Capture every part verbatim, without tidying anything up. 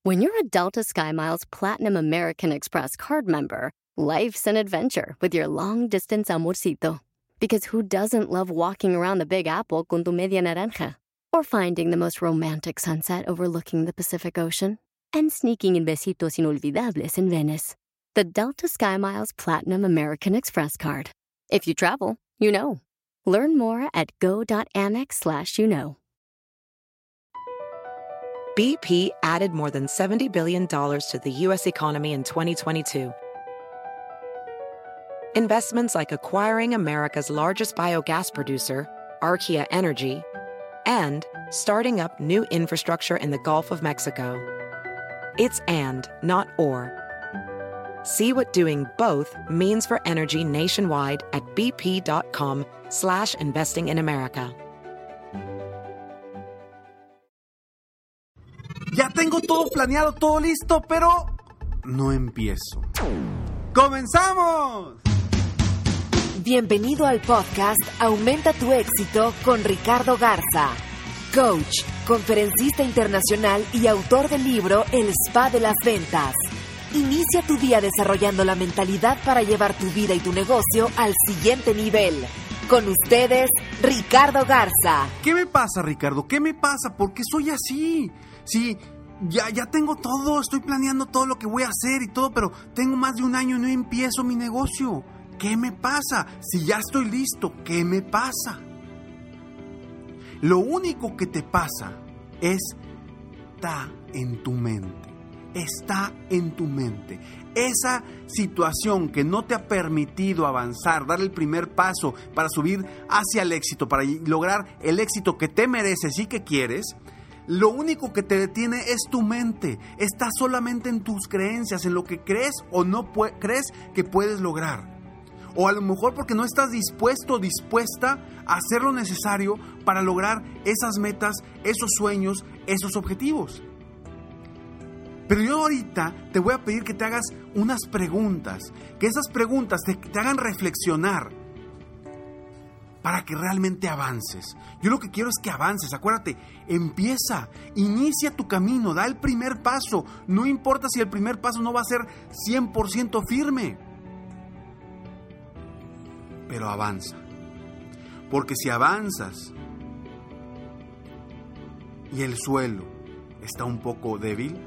When you're a Delta SkyMiles Platinum American Express card member, life's an adventure with your long-distance amorcito. Because who doesn't love walking around the Big Apple con tu media naranja? Or finding the most romantic sunset overlooking the Pacific Ocean? And sneaking in besitos inolvidables in Venice. The Delta SkyMiles Platinum American Express card. If you travel, you know. Learn more at go.amex slash you know. B P added more than seventy billion dollars to the U S economy in twenty twenty-two. Investments like acquiring America's largest biogas producer, Archaea Energy, and starting up new infrastructure in the Gulf of Mexico. It's and, not or. See what doing both means for energy nationwide at bp.com slash investing in America. Ya tengo todo planeado, todo listo, pero no empiezo. ¡Comenzamos! Bienvenido al podcast Aumenta tu éxito con Ricardo Garza, coach, conferencista internacional y autor del libro El Spa de las Ventas. Inicia tu día desarrollando la mentalidad para llevar tu vida y tu negocio al siguiente nivel. Con ustedes, Ricardo Garza. ¿Qué me pasa, Ricardo? ¿Qué me pasa? ¿Por qué soy así? Sí, ya, ya tengo todo, estoy planeando todo lo que voy a hacer y todo, pero tengo más de un año y no empiezo mi negocio. ¿Qué me pasa? Si ya estoy listo, ¿qué me pasa? Lo único que te pasa está en tu mente. Está en tu mente. Esa situación que no te ha permitido avanzar, dar el primer paso para subir hacia el éxito, para lograr el éxito que te mereces y que quieres, lo único que te detiene es tu mente. Está solamente en tus creencias, en lo que crees o no pu- crees que puedes lograr. O a lo mejor porque no estás dispuesto o dispuesta a hacer lo necesario para lograr esas metas, esos sueños, esos objetivos. Pero yo ahorita te voy a pedir que te hagas unas preguntas, que esas preguntas te, te hagan reflexionar para que realmente avances. Yo lo que quiero es que avances, acuérdate, empieza, inicia tu camino, da el primer paso. No importa si el primer paso no va a ser cien por ciento firme, pero avanza. Porque si avanzas y el suelo está un poco débil,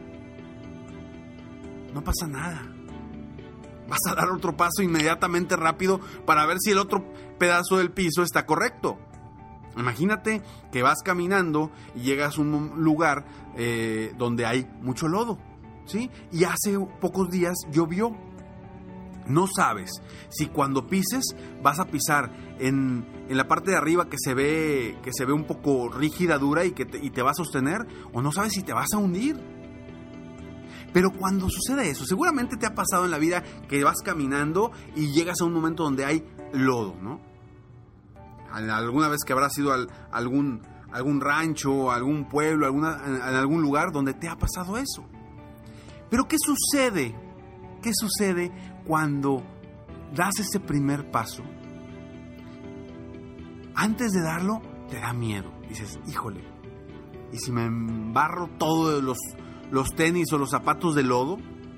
no pasa nada. Vas a dar otro paso inmediatamente rápido para ver si el otro pedazo del piso está correcto. Imagínate que vas caminando y llegas a un lugar eh, donde hay mucho lodo, ¿sí? Y hace pocos días llovió. No sabes si cuando pises vas a pisar en, en la parte de arriba que se ve que se ve un poco rígida, dura y que te, y te va a sostener, o no sabes si te vas a hundir. Pero cuando sucede eso, seguramente te ha pasado en la vida que vas caminando y llegas a un momento donde hay lodo, ¿no? Alguna vez que habrás ido a algún, algún rancho, algún pueblo, alguna, en algún lugar donde te ha pasado eso. Pero ¿qué sucede? ¿Qué sucede cuando das ese primer paso? Antes de darlo, te da miedo. Dices, híjole, ¿y si me embarro todos los, los tenis o los zapatos de lodo?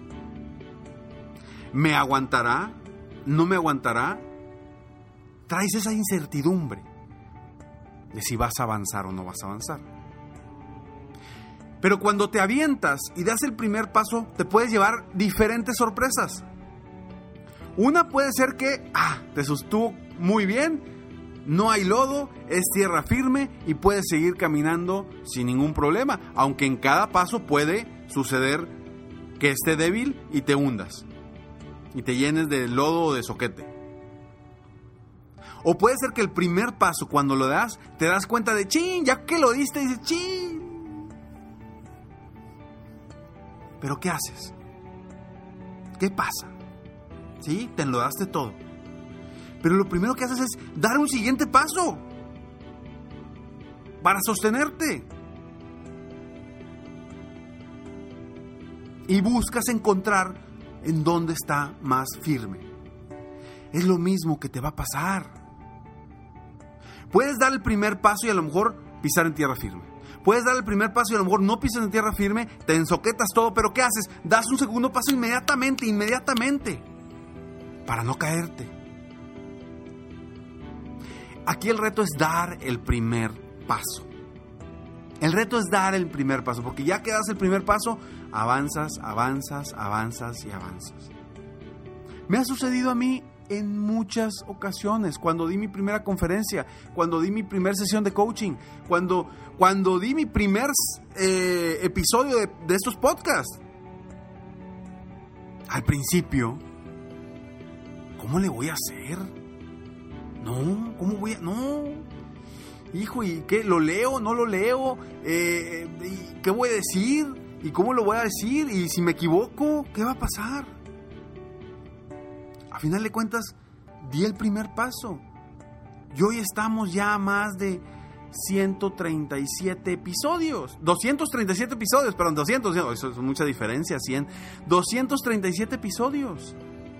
¿Me aguantará? ¿No me aguantará? Traes esa incertidumbre de si vas a avanzar o no vas a avanzar. Pero cuando te avientas y das el primer paso, te puedes llevar diferentes sorpresas. Una puede ser que, ah, te sostuvo muy bien, no hay lodo, es tierra firme y puedes seguir caminando sin ningún problema, aunque en cada paso puede suceder que esté débil y te hundas y te llenes de lodo o de zoquete. O puede ser que el primer paso, cuando lo das, te das cuenta de, chin, ya que lo diste, dices, chin. ¿Pero qué haces? ¿Qué pasa? ¿Sí? Te enlodaste todo. Pero lo primero que haces es dar un siguiente paso para sostenerte. Y buscas encontrar en dónde está más firme. Es lo mismo que te va a pasar. Puedes dar el primer paso y a lo mejor pisar en tierra firme. Puedes dar el primer paso y a lo mejor no pisas en tierra firme, te ensoquetas todo, pero ¿qué haces? Das un segundo paso inmediatamente, inmediatamente, para no caerte. Aquí el reto es dar el primer paso. El reto es dar el primer paso, porque ya que das el primer paso, avanzas, avanzas, avanzas y avanzas. Me ha sucedido a mí en muchas ocasiones, cuando di mi primera conferencia, cuando di mi primera sesión de coaching, cuando, cuando di mi primer eh, episodio de, de estos podcasts. Al principio, ¿cómo le voy a hacer? No, ¿cómo voy a...? No, hijo, ¿y qué? ¿Lo leo? ¿No lo leo? Eh, ¿y ¿Qué voy a decir? ¿Y cómo lo voy a decir? ¿Y si me equivoco? ¿Qué va a pasar? A final de cuentas, di el primer paso. Y hoy estamos ya a más de ciento treinta y siete episodios. doscientos treinta y siete episodios, perdón, doscientos, eso es mucha diferencia, cien. doscientos treinta y siete episodios.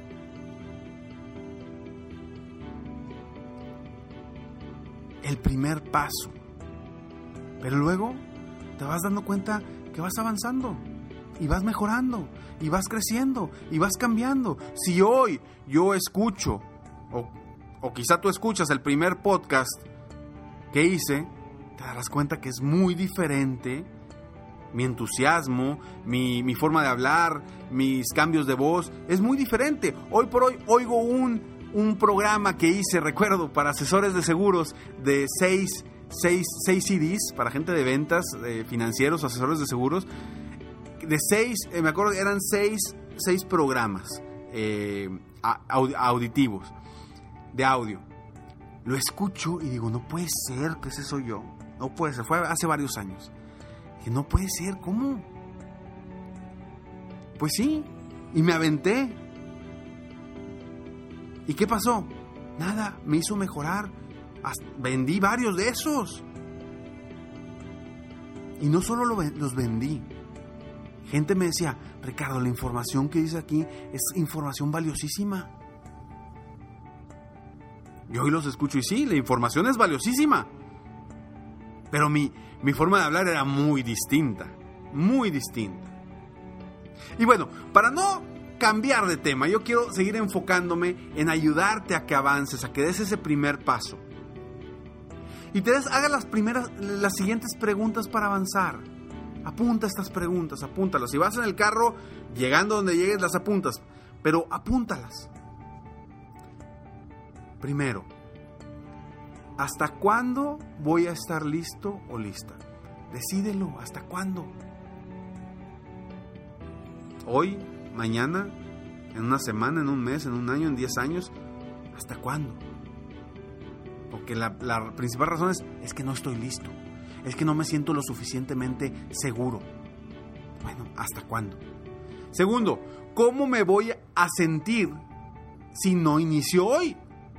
El primer paso. Pero luego te vas dando cuenta que vas avanzando. Y vas mejorando, y vas creciendo, y vas cambiando. Si hoy yo escucho, o, o quizá tú escuchas el primer podcast que hice, te darás cuenta que es muy diferente mi entusiasmo, mi, mi forma de hablar, mis cambios de voz, es muy diferente. Hoy por hoy oigo un, un programa que hice, recuerdo, para asesores de seguros de seis, seis, seis C Ds, para gente de ventas, de financieros, asesores de seguros, de seis, eh, me acuerdo, eran seis, seis programas eh, aud- auditivos, de audio. Lo escucho y digo, no puede ser que ese soy yo. No puede ser, fue hace varios años. Dije, no puede ser, ¿cómo? Pues sí, y me aventé. ¿Y qué pasó? Nada, me hizo mejorar. Hasta vendí varios de esos. Y no solo lo, los vendí. Gente me decía, Ricardo, la información que dice aquí es información valiosísima. Y hoy los escucho y sí, la información es valiosísima. Pero mi, mi forma de hablar era muy distinta, muy distinta. Y bueno, para no cambiar de tema, yo quiero seguir enfocándome en ayudarte a que avances, a que des ese primer paso. Y te des, haga las primeras, las siguientes preguntas para avanzar. Apunta estas preguntas, apúntalas. Si vas en el carro, llegando donde llegues, las apuntas. Pero apúntalas. Primero, ¿hasta cuándo voy a estar listo o lista? Decídelo, ¿hasta cuándo? Hoy, mañana, en una semana, en un mes, en un año, en diez años. ¿Hasta cuándo? Porque la, la principal razón es, es que no estoy listo. Es que no me siento lo suficientemente seguro. Bueno, ¿hasta cuándo? Segundo, ¿cómo me voy a sentir si no inicio hoy?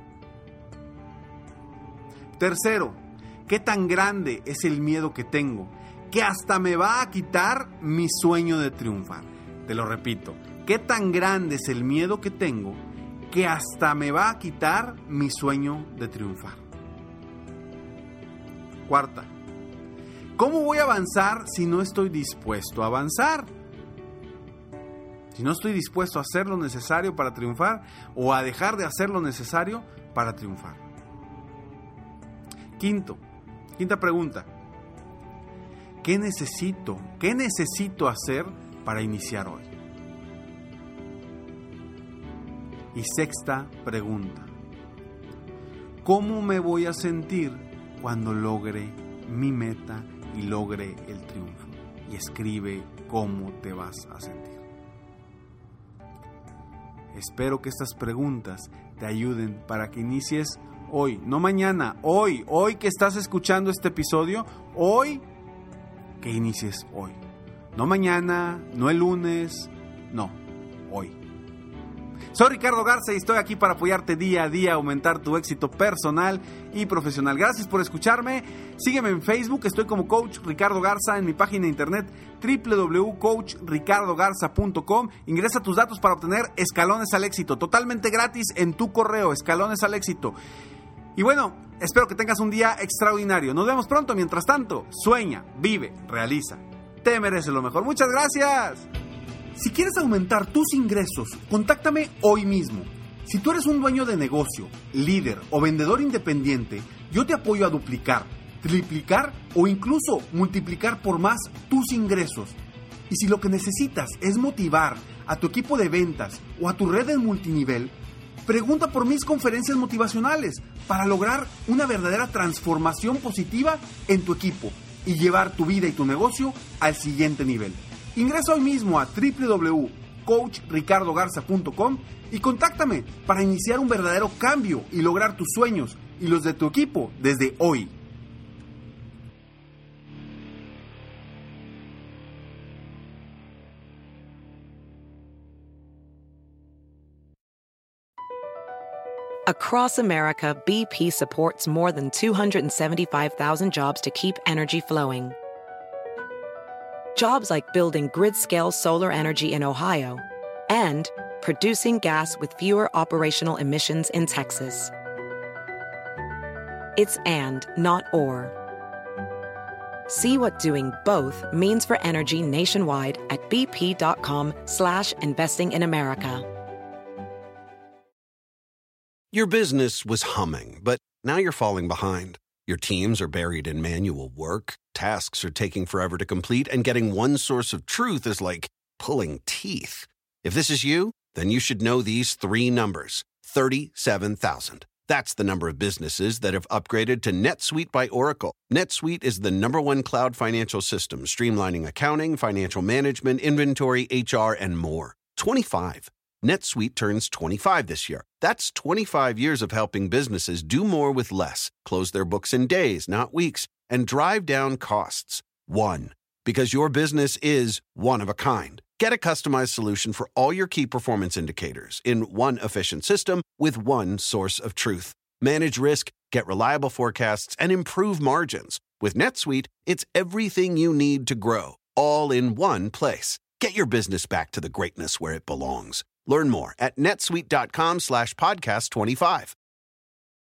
Tercero, ¿qué tan grande es el miedo que tengo que hasta me va a quitar mi sueño de triunfar? Te lo repito, ¿qué tan grande es el miedo que tengo que hasta me va a quitar mi sueño de triunfar? Cuarta, ¿cómo voy a avanzar si no estoy dispuesto a avanzar? Si no estoy dispuesto a hacer lo necesario para triunfar o a dejar de hacer lo necesario para triunfar. Quinto, quinta pregunta. ¿Qué necesito? ¿Qué necesito hacer para iniciar hoy? Y sexta pregunta. ¿Cómo me voy a sentir cuando logre mi meta y logre el triunfo? Y escribe cómo te vas a sentir. Espero que estas preguntas te ayuden para que inicies hoy, no mañana, hoy, hoy que estás escuchando este episodio, hoy que inicies hoy. No mañana, no el lunes, no, hoy. Soy Ricardo Garza y estoy aquí para apoyarte día a día a aumentar tu éxito personal y profesional. Gracias por escucharme. Sígueme en Facebook, estoy como Coach Ricardo Garza, en mi página de internet doble u doble u doble u punto coach ricardo garza punto com. Ingresa tus datos para obtener escalones al éxito, totalmente gratis en tu correo, escalones al éxito. Y bueno, espero que tengas un día extraordinario. Nos vemos pronto. Mientras tanto, sueña, vive, realiza. Te mereces lo mejor. Muchas gracias. Si quieres aumentar tus ingresos, contáctame hoy mismo. Si tú eres un dueño de negocio, líder o vendedor independiente, yo te apoyo a duplicar, triplicar o incluso multiplicar por más tus ingresos. Y si lo que necesitas es motivar a tu equipo de ventas o a tu red de multinivel, pregunta por mis conferencias motivacionales para lograr una verdadera transformación positiva en tu equipo y llevar tu vida y tu negocio al siguiente nivel. Ingresa hoy mismo a doble u doble u doble u punto coach ricardo garza punto com y contáctame para iniciar un verdadero cambio y lograr tus sueños y los de tu equipo desde hoy. Across America, B P supports more than two hundred seventy-five thousand jobs to keep energy flowing. Jobs like building grid-scale solar energy in Ohio and producing gas with fewer operational emissions in Texas. It's and, not or. See what doing both means for energy nationwide at bp.com slash investing in America. Your business was humming, but now you're falling behind. Your teams are buried in manual work, tasks are taking forever to complete, and getting one source of truth is like pulling teeth. If this is you, then you should know these three numbers. thirty-seven thousand. That's the number of businesses that have upgraded to NetSuite by Oracle. NetSuite is the number one cloud financial system, streamlining accounting, financial management, inventory, H R, and more. twenty-five. NetSuite turns twenty-five this year. That's twenty-five years of helping businesses do more with less, close their books in days, not weeks, and drive down costs. One. Because your business is one of a kind. Get a customized solution for all your key performance indicators in one efficient system with one source of truth. Manage risk, get reliable forecasts, and improve margins. With NetSuite, it's everything you need to grow, all in one place. Get your business back to the greatness where it belongs. Learn more at netsuite.com slash podcast 25.